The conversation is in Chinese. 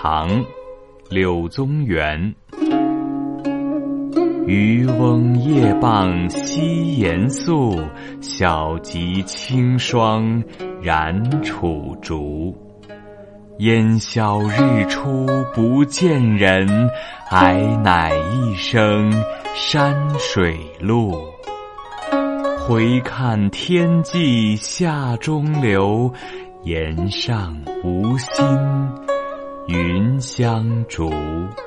唐·柳宗元。渔翁夜傍西岩宿，小楫清霜染楚竹。烟消日出不见人，哀乃一声山水路。回看天际下中流，岩上无心云相逐。